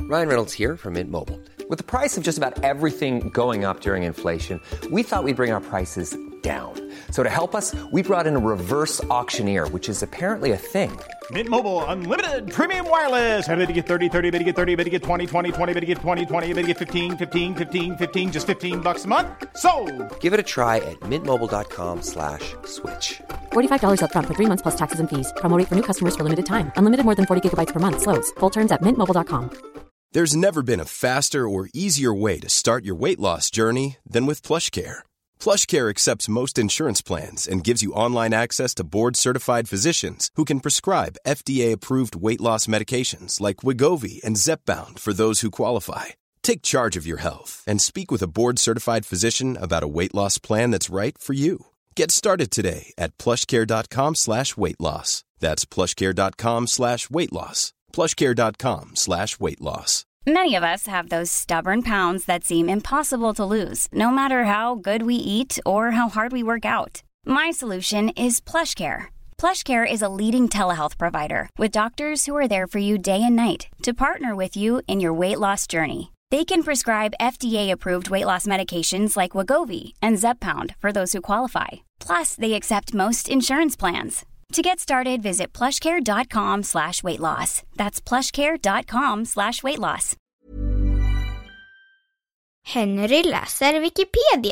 Ryan Reynolds here from Mint Mobile. With the price of just about everything going up during inflation, we thought we'd bring our prices down. So to help us, we brought in a reverse auctioneer, which is apparently a thing. Mint Mobile Unlimited Premium Wireless. How to get 30, 30, bit to get 30, bit to get 20, 20, 20, bit to get 20, 20, bit to get 15, 15, 15, 15, just $15 a month? Sold! Give it a try at mintmobile.com/switch. $45 up front for 3 months plus taxes and fees. Promo rate for new customers for limited time. Unlimited more than 40 gigabytes per month. Slows full terms at mintmobile.com. There's never been a faster or easier way to start your weight loss journey than with PlushCare. PlushCare accepts most insurance plans and gives you online access to board-certified physicians who can prescribe FDA-approved weight loss medications like Wegovy and Zepbound for those who qualify. Take charge of your health and speak with a board-certified physician about a weight loss plan that's right for you. Get started today at plushcare.com/weightloss. That's plushcare.com/weightloss. plushcare.com/weightloss. Many of us have those stubborn pounds that seem impossible to lose, no matter how good we eat or how hard we work out. My solution is PlushCare. PlushCare is a leading telehealth provider with doctors who are there for you day and night to partner with you in your weight loss journey. They can prescribe FDA-approved weight loss medications like Wegovy and Zepbound for those who qualify. Plus, they accept most insurance plans. To get started, visit plushcare.com/weightloss. That's plushcare.com/weightloss. Henry läser Wikipedia.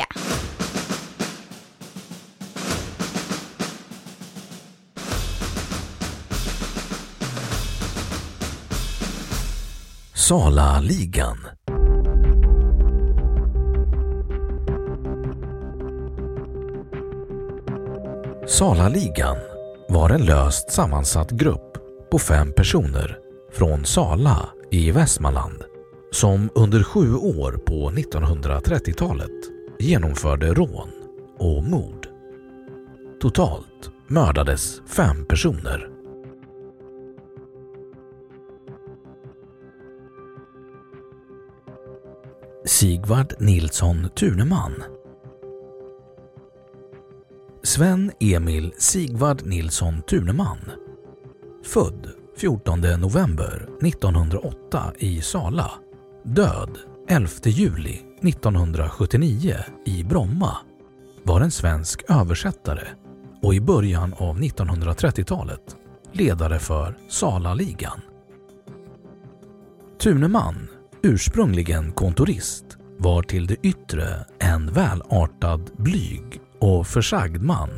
Sala-ligan. Sala-ligan var en löst sammansatt grupp på 5 personer från Sala i Västmanland som under 7 år på 1930-talet genomförde rån och mord. Totalt mördades 5 personer. Sigvard Nilsson Tuneman. Sven Emil Sigvard Nilsson Tuneman, född 14 november 1908 i Sala, död 11 juli 1979 i Bromma, var en svensk översättare och i början av 1930-talet ledare för Sala-ligan. Tuneman, ursprungligen kontorist, var till det yttre en välartad, blyg och försagd man.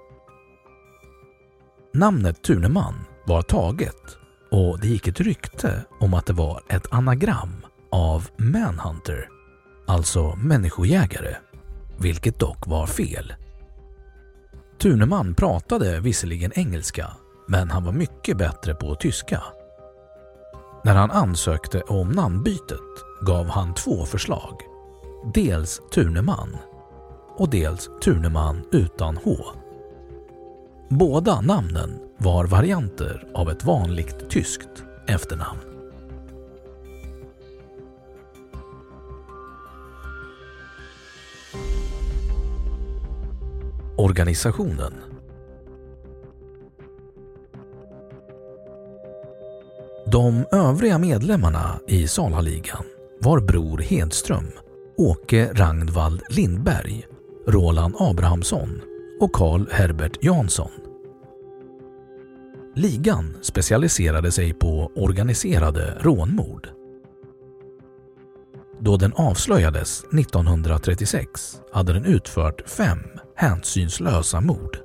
Namnet Tuneman var taget och det gick ett rykte om att det var ett anagram av manhunter, alltså människojägare, vilket dock var fel. Tuneman pratade visserligen engelska, men han var mycket bättre på tyska. När han ansökte om namnbytet gav han 2 förslag. Dels Tuneman och dels Tuneman utan H. Båda namnen var varianter av ett vanligt tyskt efternamn. Organisationen. De övriga medlemmarna i Sala-ligan var Bror Hedström, Åke Ragnvald Lindberg, Roland Abrahamsson och Carl Herbert Jansson. Ligan specialiserade sig på organiserade rånmord. Då den avslöjades 1936 hade den utfört 5 hänsynslösa mord.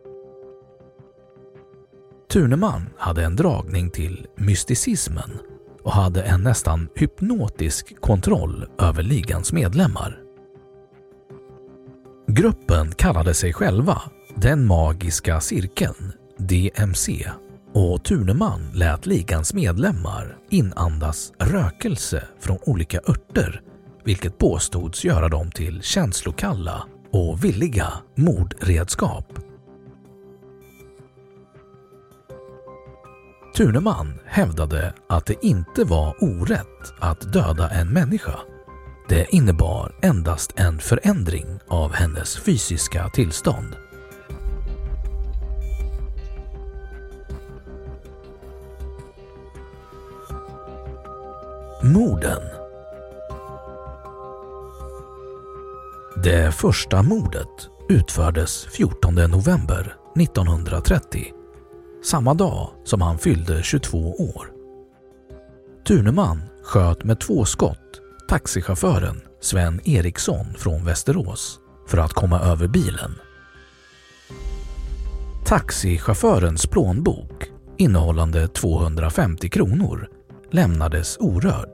Tuneman hade en dragning till mysticismen och hade en nästan hypnotisk kontroll över ligans medlemmar. Gruppen kallade sig själva Den magiska cirkeln, DMC, och Tuneman lät ligans medlemmar inandas rökelse från olika örter, vilket påstods göra dem till känslokalla och villiga mordredskap. Tuneman hävdade att det inte var orätt att döda en människa. Det innebar endast en förändring av hennes fysiska tillstånd. Morden. Det första mordet utfördes 14 november 1930, samma dag som han fyllde 22 år. Tuneman sköt med 2 skott taxichauffören Sven Eriksson från Västerås för att komma över bilen. Taxichaufförens plånbok innehållande 250 kronor lämnades orörd.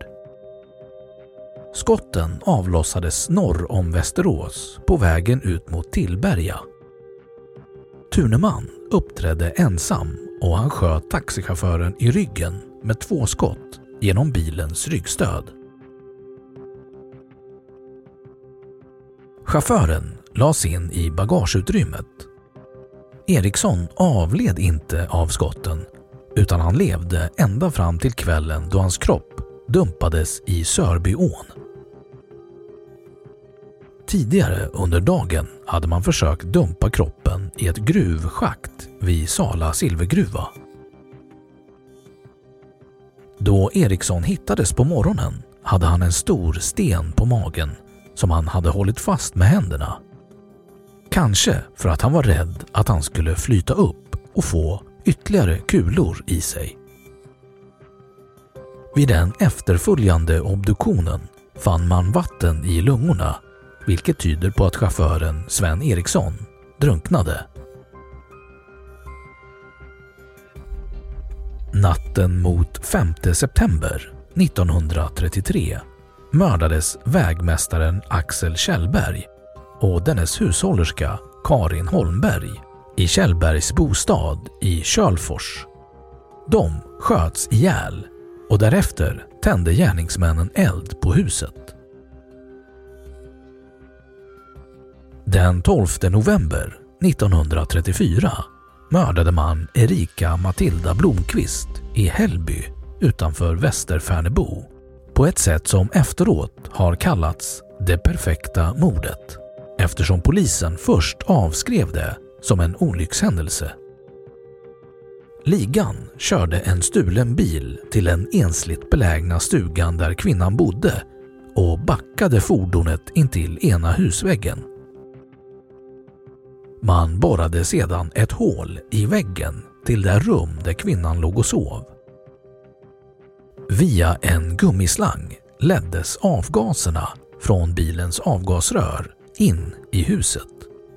Skotten avlossades norr om Västerås på vägen ut mot Tillberga. Tuneman uppträdde ensam och han sköt taxichauffören i ryggen med 2 skott genom bilens ryggstöd. Chauffören lades in i bagageutrymmet. Eriksson avled inte av skotten utan han levde ända fram till kvällen då hans kropp dumpades i Sörbyån. Tidigare under dagen hade man försökt dumpa kroppen i ett gruvschakt vid Sala silvergruva. Då Eriksson hittades på morgonen hade han en stor sten på magen som han hade hållit fast med händerna. Kanske för att han var rädd att han skulle flyta upp och få ytterligare kulor i sig. Vid den efterföljande obduktionen fann man vatten i lungorna, vilket tyder på att chauffören Sven Eriksson drunknade. Natten mot 5 september 1933 mördades vägmästaren Axel Kjellberg och dennes hushållerska Karin Holmberg i Kjellbergs bostad i Kölfors. De sköts ihjäl och därefter tände gärningsmännen eld på huset. Den 12 november 1934 mördade man Erika Matilda Blomqvist i Hällby utanför Västerfärnebo på ett sätt som efteråt har kallats det perfekta mordet, eftersom polisen först avskrev det som en olyckshändelse. Ligan körde en stulen bil till den ensligt belägna stugan där kvinnan bodde och backade fordonet intill ena husväggen. Man borrade sedan ett hål i väggen till det rum där kvinnan låg och sov. Via en gummislang leddes avgaserna från bilens avgasrör in i huset.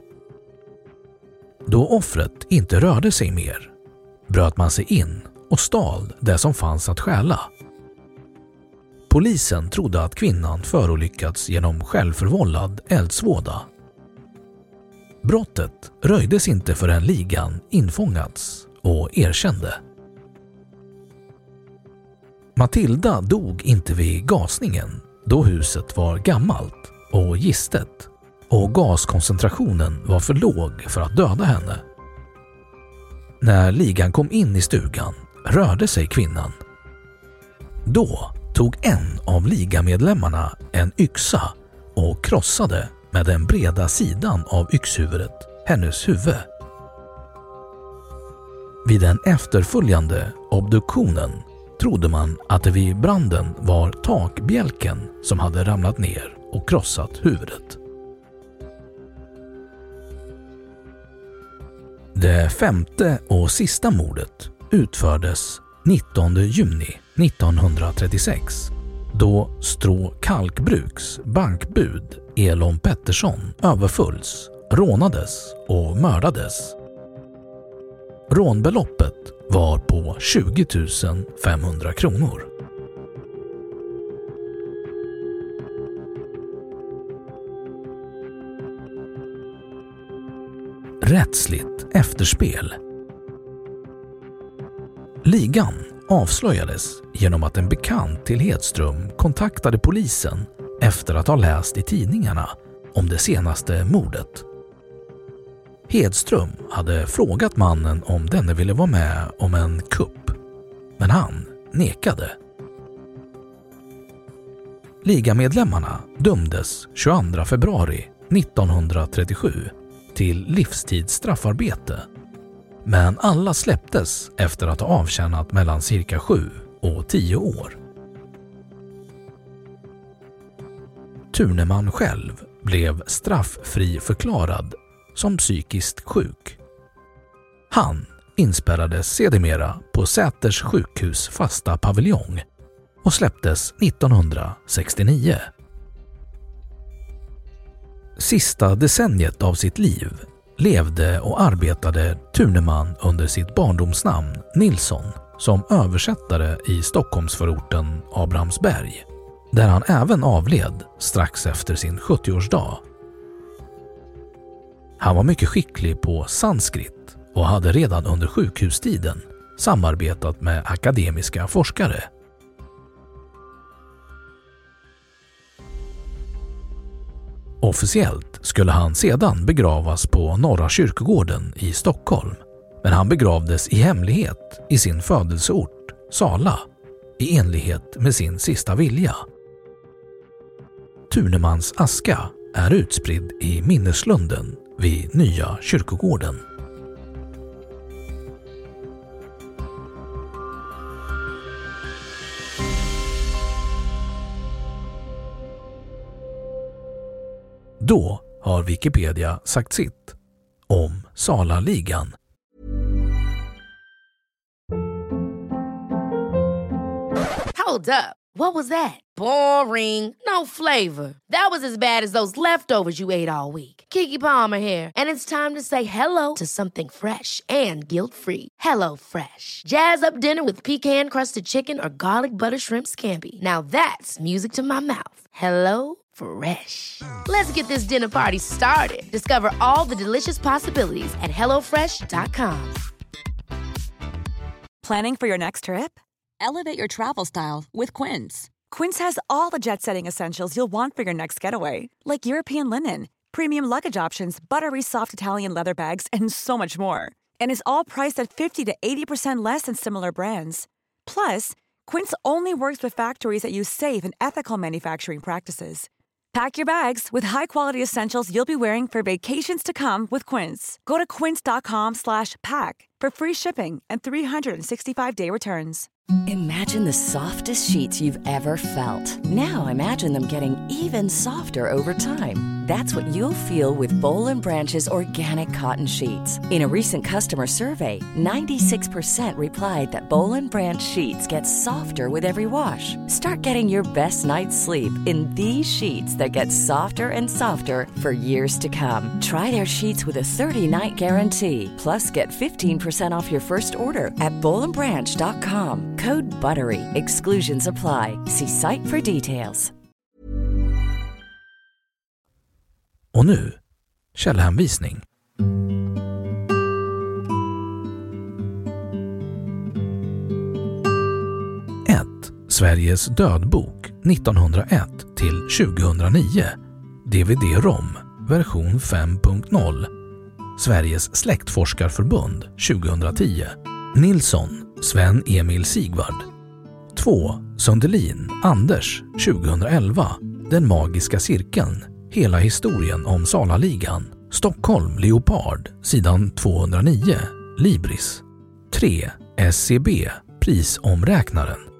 Då offret inte rörde sig mer bröt man sig in och stal det som fanns att stjäla. Polisen trodde att kvinnan förolyckats genom självförvållad eldsvåda. Brottet röjdes inte förrän ligan infångats och erkände. Matilda dog inte vid gasningen då huset var gammalt och gistet och gaskoncentrationen var för låg för att döda henne. När ligan kom in i stugan rörde sig kvinnan. Då tog en av ligamedlemmarna en yxa och krossade med den breda sidan av yxhuvudet hennes huvud. Vid den efterföljande obduktionen trodde man att det vid branden var takbjälken som hade ramlat ner och krossat huvudet. Det 5:e och sista mordet utfördes 19 juni 1936 då Strå Kalkbruks bankbud Elon Pettersson överfölls, rånades och mördades. Rånbeloppet var på 20 500 kronor. Rättsligt efterspel. Ligan avslöjades genom att en bekant till Hedström kontaktade polisen efter att ha läst i tidningarna om det senaste mordet. Hedström hade frågat mannen om denne ville vara med om en kupp, men han nekade. Ligamedlemmarna dömdes 22 februari 1937 till livstidsstraffarbete, men alla släpptes efter att ha avtjänat mellan cirka 7 och 10 år. Thuneman själv blev strafffri förklarad som psykiskt sjuk. Han inspärrades sedermera på Säters sjukhus fasta paviljong och släpptes 1969. Sista decenniet av sitt liv levde och arbetade Thuneman under sitt barndomsnamn Nilsson som översättare i Stockholmsförorten Abrahamsberg, där han även avled strax efter sin 70-årsdag. Han var mycket skicklig på sanskrit och hade redan under sjukhustiden samarbetat med akademiska forskare. Officiellt skulle han sedan begravas på Norra kyrkogården i Stockholm, men han begravdes i hemlighet i sin födelseort, Sala, i enlighet med sin sista vilja. Thunemans aska är utspridd i minneslunden vid Nya kyrkogården. Då har Wikipedia sagt sitt om Salaligan. Hold up. What was that? Boring. No flavor. That was as bad as those leftovers you ate all week. Keke Palmer here, and it's time to say hello to something fresh and guilt-free. Hello Fresh. Jazz up dinner with pecan-crusted chicken or garlic butter shrimp scampi. Now that's music to my mouth. Hello Fresh. Let's get this dinner party started. Discover all the delicious possibilities at hellofresh.com. Planning for your next trip? Elevate your travel style with Quince. Quince has all the jet-setting essentials you'll want for your next getaway, like European linen, premium luggage options, buttery soft Italian leather bags, and so much more. And is all priced at 50 to 80% less than similar brands. Plus, Quince only works with factories that use safe and ethical manufacturing practices. Pack your bags with high-quality essentials you'll be wearing for vacations to come with Quince. Go to quince.com/pack for free shipping and 365-day returns. Imagine the softest sheets you've ever felt. Now imagine them getting even softer over time. That's what you'll feel with Boll & Branch's organic cotton sheets. In a recent customer survey, 96% replied that Boll & Branch sheets get softer with every wash. Start getting your best night's sleep in these sheets that get softer and softer for years to come. Try their sheets with a 30-night guarantee. Plus, get 15% off your first order at bollandbranch.com. Code BUTTERY. Exclusions apply. See site for details. Och nu, källhänvisning. 1. Sveriges dödbok 1901 till 2009. DVD-ROM, version 5.0. Sveriges släktforskarförbund 2010. Nilsson, Sven Emil Sigvard. 2. Sundelin, Anders 2011. Den magiska cirkeln. Hela historien om Salaligan. Stockholm, Leopard, sidan 209. Libris. 3. SCB, prisomräknaren.